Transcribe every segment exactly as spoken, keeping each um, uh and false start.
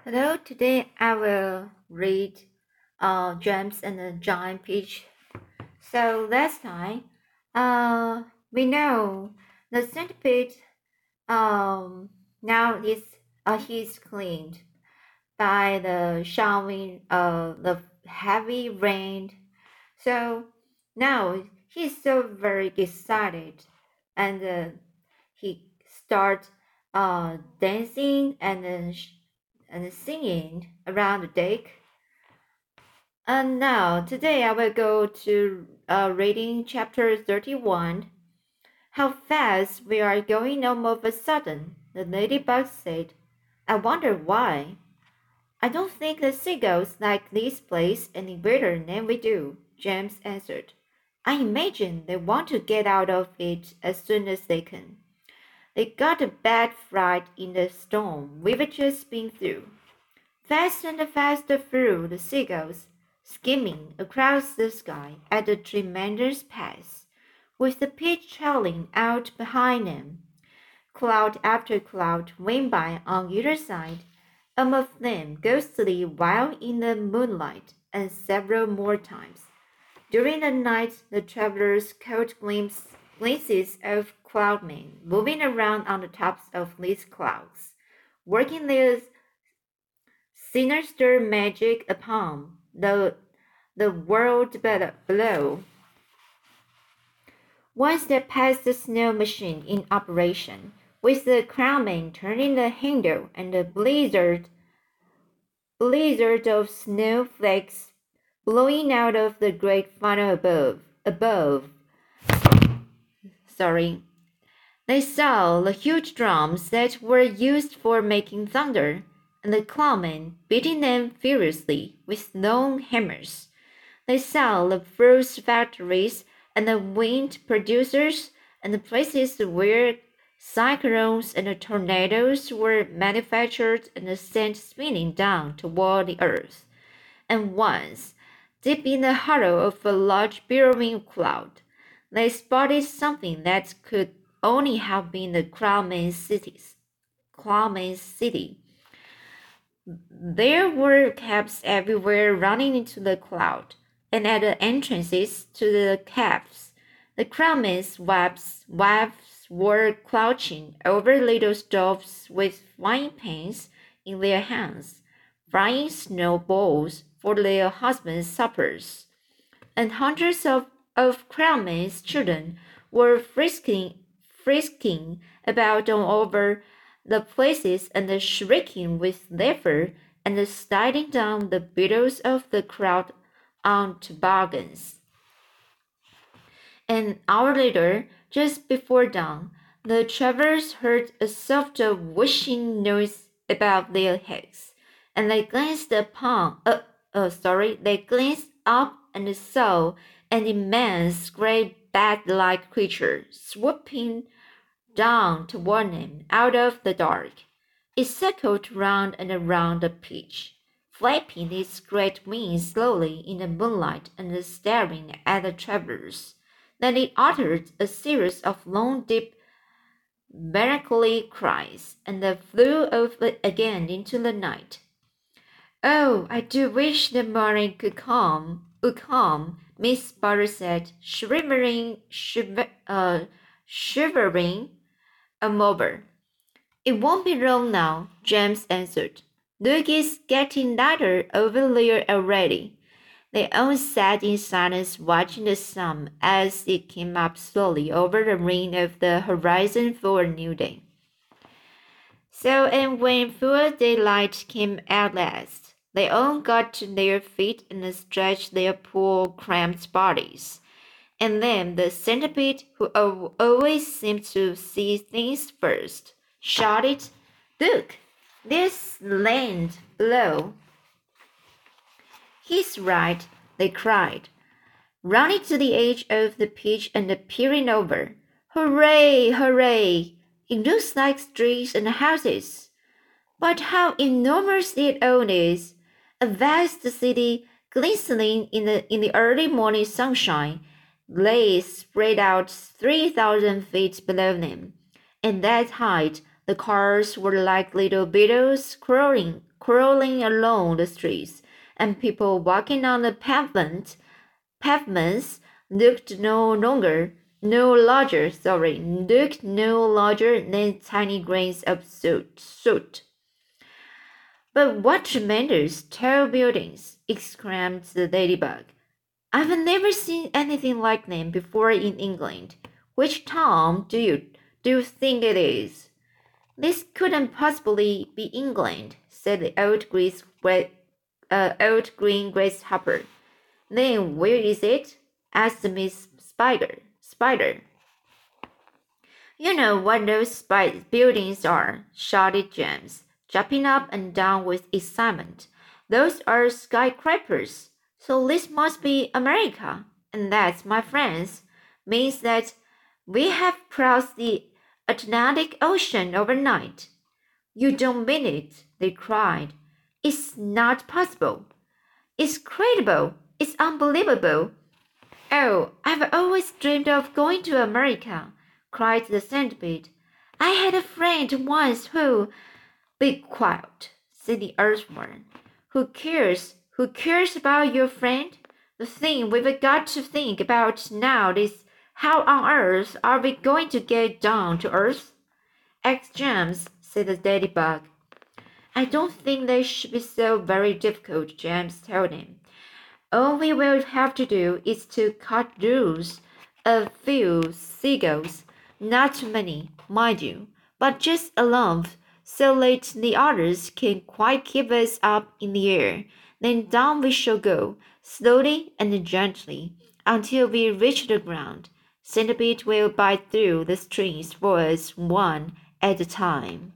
Hello, today I will read uh, James and the Giant Peach. So last time, uh, we know the centipede um, now is uh, he's cleaned by the showering of the heavy rain. So now he's so very excited, and uh, he start uh, dancing and then and singing around the deck. And now, today I will go to uh, reading chapter thirty-one. How fast we are going all of a sudden, the ladybug said. I wonder why. I don't think the seagulls like this place any better than we do, James answered. I imagine they want to get out of it as soon as they can. They got a bad fright in the storm we've just been through. Fast and faster flew the seagulls, skimming across the sky at a tremendous pace, with the pitch trailing out behind them. Cloud after cloud went by on either side, some of them ghostly while in the moonlight, and several more times. During the night, the travelers caught glimpse, glimpses of cloudmen moving around on the tops of these clouds, working their sinister magic upon the, the world below. Once they passed the snow machine in operation, with the crowman turning the handle and the blizzard, blizzard of snowflakes blowing out of the great funnel above, above. Sorry. They saw the huge drums that were used for making thunder, and the clownmen beating them furiously with long hammers. They saw the fruit factories and the wind producers and the places where cyclones and tornadoes were manufactured and sent spinning down toward the earth. And once, deep in the hollow of a large billowing cloud, they spotted something that could only have been the Cloudman's cities. Cloudman's city. There were cabs everywhere running into the cloud, and at the entrances to the cabs, the Cloudman's wives, wives were crouching over little stoves with frying pans in their hands, frying snowballs for their husbands' suppers. And hundreds of, of Cloudman's children were frisking frisking about all over the places and shrieking with laughter and sliding down the billows of the crowd on toboggans. An hour later, just before dawn, the travelers heard a soft whooshing noise above their heads, and they glanced upon, uh, uh, sorry, they glanced up and saw an immense great bat-like creature swooping down toward them out of the dark. It circled round and around the pitch, flapping its great wings slowly in the moonlight and staring at the travelers. Then it uttered a series of long, deep, melancholy cries, and flew off again into the night. Oh, I do wish the morning could come, would come, Miss Butter said, shivering, shiver, uh, shivering over. It won't be long now, James answered. Look, it's getting lighter over there already. They all sat in silence watching the sun as it came up slowly over the rim of the horizon for a new day. So, and when full daylight came at last, they all got to their feet and stretched their poor cramped bodies. And then the centipede, who always seemed to see things first, shouted, Look, there's land below. He's right, they cried, running to the edge of the pitch and peering over. Hooray, hooray! It looks like streets and houses. But how enormous it all is! A vast city glistening in the, in the early morning sunshine lay spread out three thousand feet below them, and that height The cars were like little beetles crawling, crawling along the streets, and people walking on the pavement, pavements looked no longer, no larger, sorry, looked no larger than tiny grains of soot. soot. But what tremendous tall buildings! Exclaimed the ladybug. I've never seen anything like them before in England. Which town do you do you think it is? This couldn't possibly be England, said the old grease, uh, old green grasshopper. Then where is it? Asked Miss Spider. Spider. You know what those buildings are, shouted James, jumping up and down with excitement. Those are skyscrapers. So this must be America. And that, my friends, means that we have crossed the Atlantic Ocean overnight. You don't mean it, they cried. It's not possible. It's credible. It's unbelievable. Oh, I've always dreamed of going to America, cried the centipede. I had a friend once who— Be quiet, said the earthworm. Who cares? Who cares about your friend? The thing we've got to think about now is how on earth are we going to get down to earth? Ask James, said the ladybug. I don't think they should be so very difficult, James told him. All we will have to do is to cut loose a few seagulls, not too many, mind you, but just enough so that the others can quite keep us up in the air. Then down we shall go, slowly and gently, until we reach the ground. Centipede will bite through the strings for us one at a time.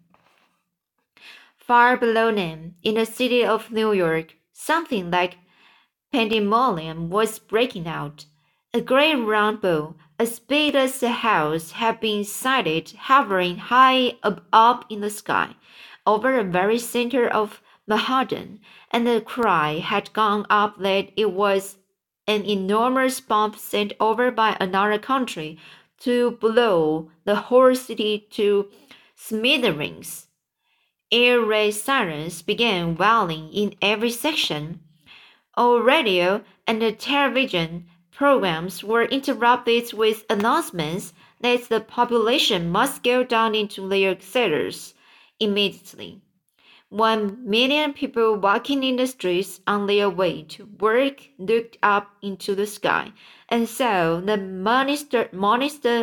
Far below them, in the city of New York, something like pandemonium was breaking out. A great round ball, as big as a house, had been sighted hovering high up in the sky, over the very center of Manhattan, and the cry had gone up that it was an enormous bomb sent over by another country to blow the whole city to smithereens. Air raid sirens began wailing in every section. All radio and television programs were interrupted with announcements that the population must go down into their cellars immediately. One million people walking in the streets on their way to work looked up into the sky and saw the monster, monster,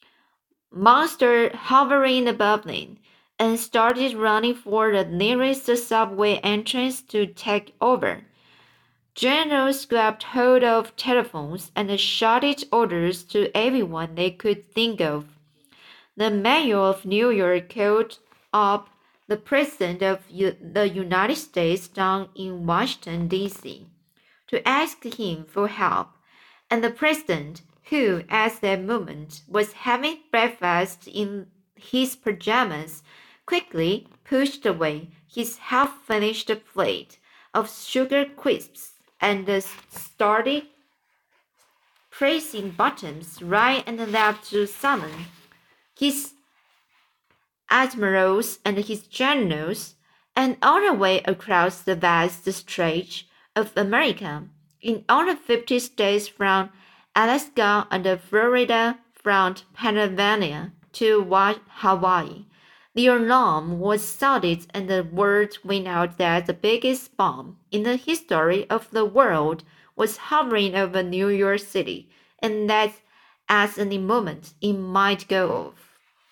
monster hovering above them, and started running for the nearest subway entrance to take over. Generals grabbed hold of telephones and shouted orders to everyone they could think of. The mayor of New York called up the President of U- the United States down in Washington, D C, to ask him for help, and the President, who at that moment was having breakfast in his pajamas, quickly pushed away his half-finished plate of sugar crisps and started pressing buttons right and left to summon his admirals and his generals, and all the way across the vast stretch of America, in all the fifty states from Alaska and Florida, from Pennsylvania to Hawaii. The alarm was sounded and the word went out that the biggest bomb in the history of the world was hovering over New York City, and that at any moment it might go off.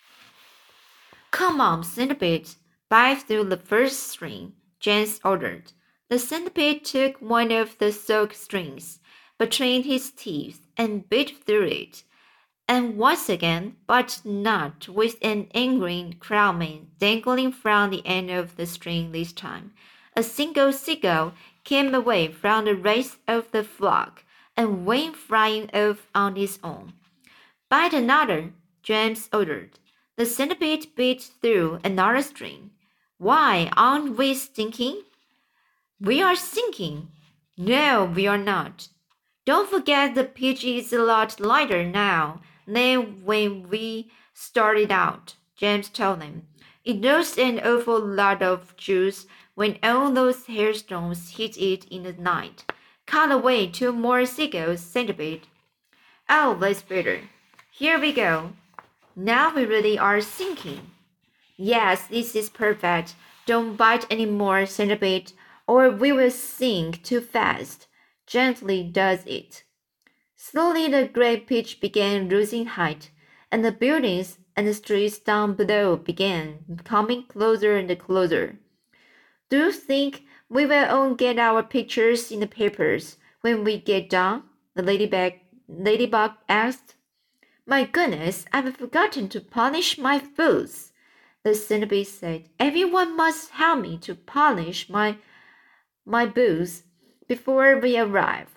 Come on, centipede, bite through the first string, James ordered. The centipede took one of the silk strings between his teeth and bit through it, and once again, but not with an angry crowman dangling from the end of the string this time. A single seagull came away from the rest of the flock and went flying off on its own. Bite another, James ordered. The centipede bit through another string. Why, aren't we sinking? We are sinking. No, we are not. Don't forget the pitch is a lot lighter now than when we started out, James told them. It lost an awful lot of juice when all those hailstones hit it in the night. Cut away two more seagulls, centipede. Oh, that's better. Here we go. Now we really are sinking. Yes, this is perfect. Don't bite any more, centipede, or we will sink too fast. Gently does it. Slowly the great pitch began losing height, and the buildings and the streets down below began coming closer and closer. Do you think we will all get our pictures in the papers when we get down? The ladybug, ladybug asked. My goodness, I've forgotten to polish my boots. The centipede said, everyone must help me to polish my, my boots before we arrive.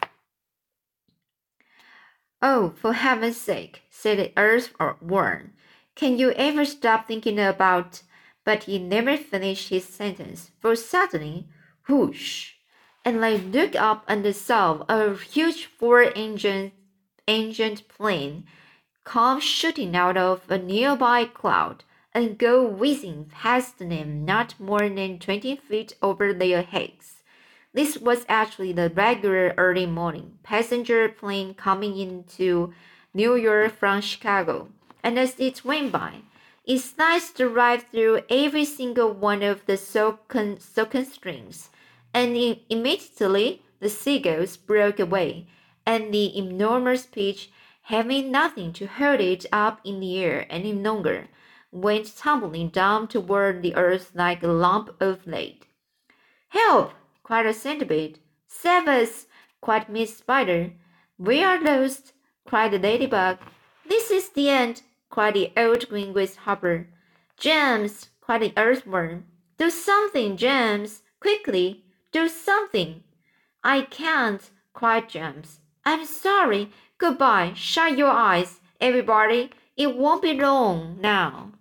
Oh, for heaven's sake, said the earthworm. Can you ever stop thinking about... But he never finished his sentence, for suddenly, whoosh, and I looked up and saw a huge four-engined engined plane come shooting out of a nearby cloud and go whizzing past them not more than twenty feet over their heads. This was actually the regular early morning passenger plane coming into New York from Chicago, and as it went by, it sliced right through every single one of the silken, silken strings, and immediately the seagulls broke away, and the enormous pitch, having nothing to hold it up in the air any longer, went tumbling down toward the earth like a lump of lead. Help! Cried a centipede. Save us! Cried Miss Spider. We are lost! Cried the ladybug. This is the end! Cried the old green grasshopper. James! Cried the earthworm. Do something, James! Quickly! Do something! I can't! Cried James. I'm sorry. Goodbye. Shut your eyes, everybody. It won't be long now.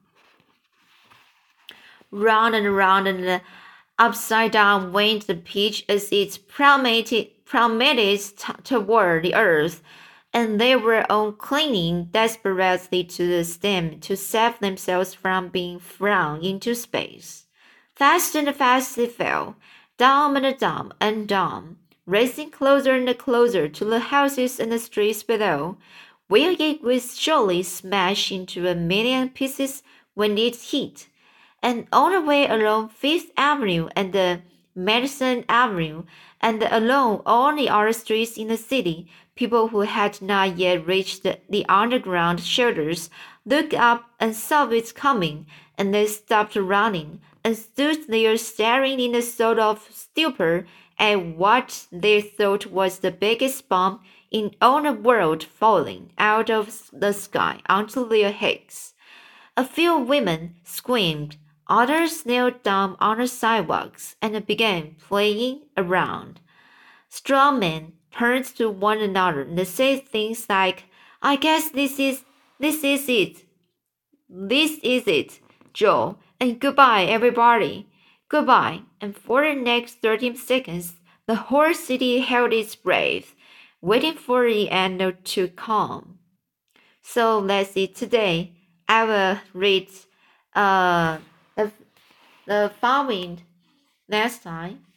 Round and round and upside down went the pitch as it plummeted, plummeted t- toward the earth, and they were all clinging desperately to the stem to save themselves from being thrown into space. Fast and fast they fell, down and down and down, racing closer and closer to the houses and the streets below, where it would surely smash into a million pieces when it hit. And all the way along Fifth Avenue and the Madison Avenue, and along all the other streets in the city, people who had not yet reached the, the underground shelters looked up and saw it coming, and they stopped running and stood there staring in a sort of stupor at what they thought was the biggest bomb in all the world falling out of the sky onto their heads. A few women screamed. Others knelt down on the sidewalks and began playing around. Strong men turned to one another and said things like, I guess this is this is it. This is it, Joe, and goodbye, everybody. Goodbye. And for the next thirty seconds, the whole city held its breath, waiting for the end to come. So let's see. Today, I will read uh, the, the following next time.